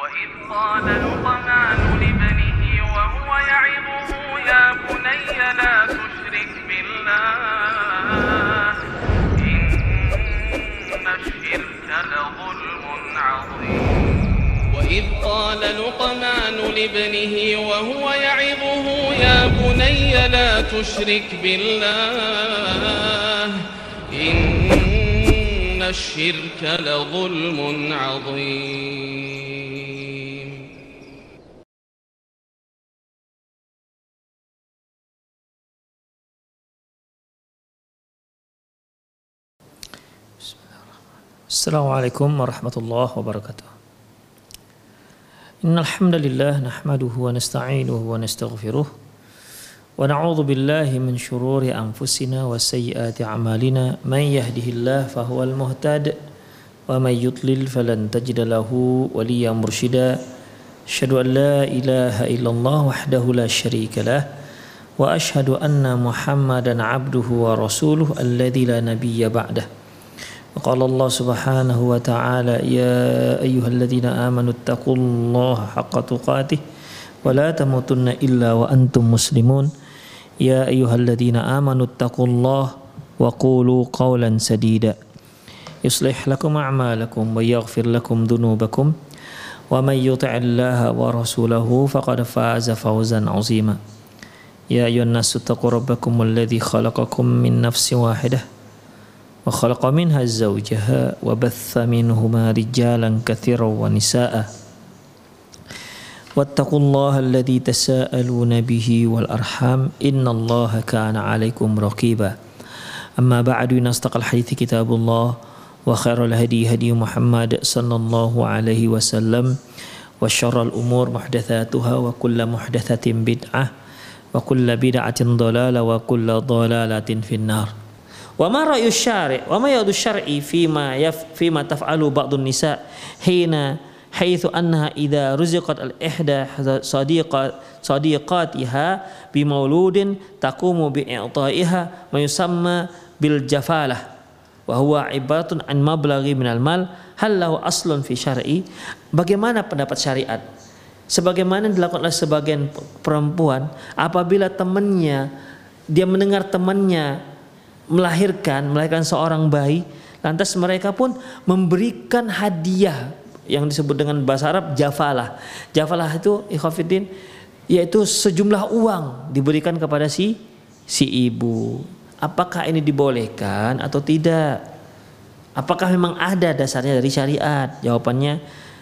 وإذ قال لقمان لابنه وهو يعظه يا بني لا تشرك بالله إن الشرك لظلم عظيم وإذ قال لقمان لابنه وهو يعظه يا بني لا تشرك بالله إن الشرك لظلم عظيم. Assalamualaikum warahmatullahi wabarakatuh. Innal hamdalillah nahmaduhu wa nasta'inuhu wa nastaghfiruh wa na'udzu billahi min shururi anfusina wa sayyiati a'malina man yahdihillahu fahuwal muhtad wa may yudlil falan tajida lahu waliyyan mursyida. Asyhadu an la ilaha illallah wahdahu la syarika lah wa asyhadu anna Muhammadan 'abduhu wa rasuluhu alladzi la nabiyya ba'dah. وقال الله سبحانه وتعالى يا أيها الذين آمنوا اتقوا الله حق تقاته ولا تموتن إلا وأنتم مسلمون يا أيها الذين آمنوا اتقوا الله وقولوا قولا سديدا يصلح لكم أعمالكم ويغفر لكم ذنوبكم ومن يطع الله ورسوله فقد فاز فوزا عظيما يا أيها الناس اتقوا ربكم الذي خلقكم من نفس واحدة وخلق منها زوجها وبث منهما رجالا كثيرا ونساء واتقوا الله الذي تساءلون به والأرحام إن الله كان عليكم رقيبا أما بعد أصدق الحديث كتاب الله وخير الهدي هدي محمد صلى الله عليه وسلم وشر الأمور محدثاتها وكل محدثة بدعة وكل بدعة ضلالة وكل ضلالة في النار. Wa ma ra'yu syari' wa ma yadu syar'i fima taf'alu ba'dun nisa hina haitsu annaha idza ruziqat al-ihda sadiqatiha bi mauludin taqumu bi i'ta'iha ma yusamma bil jafalah wa huwa ibaratun an mablaghi minal mal hal lahu aslun fi syar'i. Bagaimana pendapat syariat sebagaimana dilakukan oleh sebagian perempuan apabila temannya dia mendengar temannya melahirkan seorang bayi, lantas mereka pun memberikan hadiah yang disebut dengan bahasa Arab jafalah. Jafalah itu ikhwatiddin yaitu sejumlah uang diberikan kepada si ibu. Apakah ini dibolehkan atau tidak? Apakah memang ada dasarnya dari syariat? Jawabannya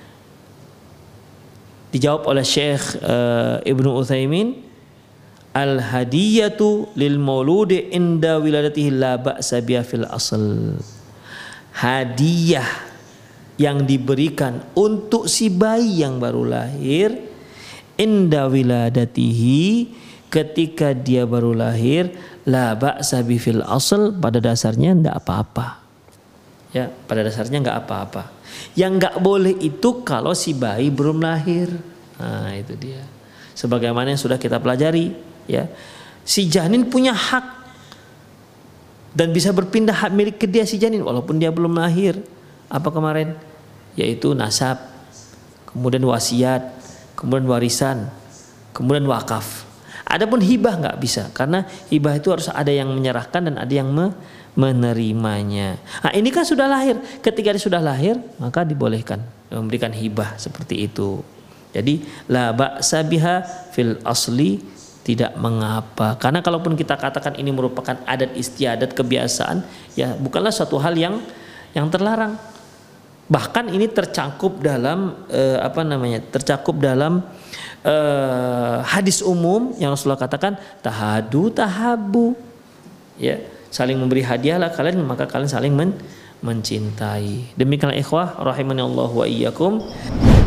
dijawab oleh Syekh Ibnu Utsaimin, al-hadiyatu lil mauludi inda wiladatihi la ba'sa biha fil asl. Hadiah yang diberikan untuk si bayi yang baru lahir inda wiladatihi ketika dia baru lahir la ba'sa bi fil asl, pada dasarnya enggak apa-apa. Ya, pada dasarnya enggak apa-apa. Yang enggak boleh itu kalau si bayi belum lahir. Nah, itu dia. Sebagaimana yang sudah kita pelajari, ya, si janin punya hak dan bisa berpindah hak milik ke dia si janin walaupun dia belum lahir. Apa kemarin? Yaitu nasab, kemudian wasiat, kemudian warisan, kemudian wakaf. Adapun hibah nggak bisa, karena hibah itu harus ada yang menyerahkan dan ada yang menerimanya. Nah, ini kan sudah lahir. Ketika dia sudah lahir, maka dibolehkan memberikan hibah seperti itu. Jadi la ba'sa biha fil asli, tidak mengapa. Karena kalaupun kita katakan ini merupakan adat istiadat kebiasaan, ya bukanlah suatu hal yang terlarang. Bahkan ini tercakup dalam tercakup dalam hadis umum yang Rasulullah katakan tahadu tahabu. Ya, saling memberi hadiahlah kalian maka kalian saling mencintai. Demikianlah ikhwah rahimani Allah wa iyyakum.